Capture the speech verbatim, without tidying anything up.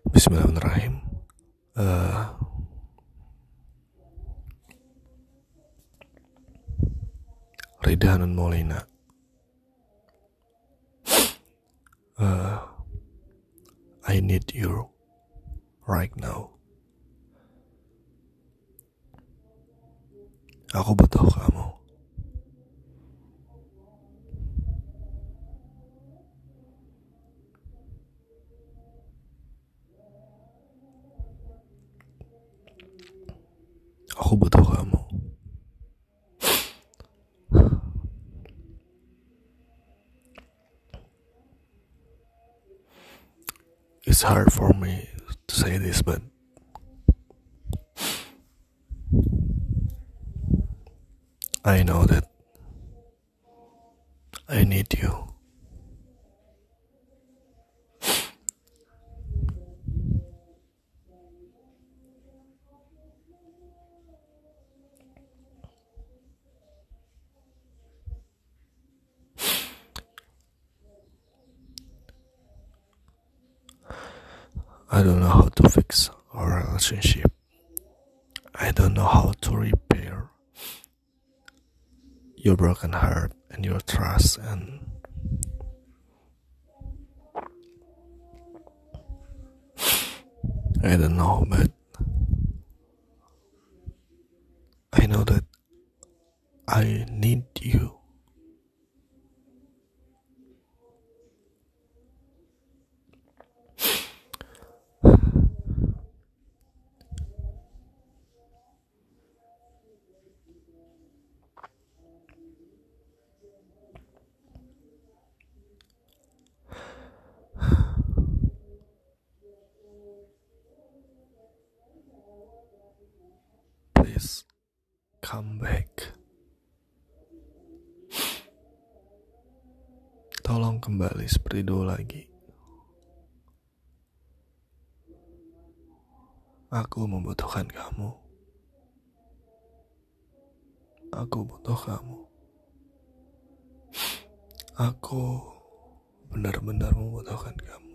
Bismillahirrahmanirrahim. Uh, Rida Hanun Maulina. Uh, I need you right now. Aku butuh kamu. Aku butuh kamu. It's hard for me to say this, but I know that I need you. I don't know how to fix our relationship. I don't know how to repair your broken heart and your trust, and I don't know, but I know that I need you. Please come back. Tolong kembali seperti dulu lagi. Aku membutuhkan kamu. Aku butuh kamu. Aku benar-benar membutuhkan kamu.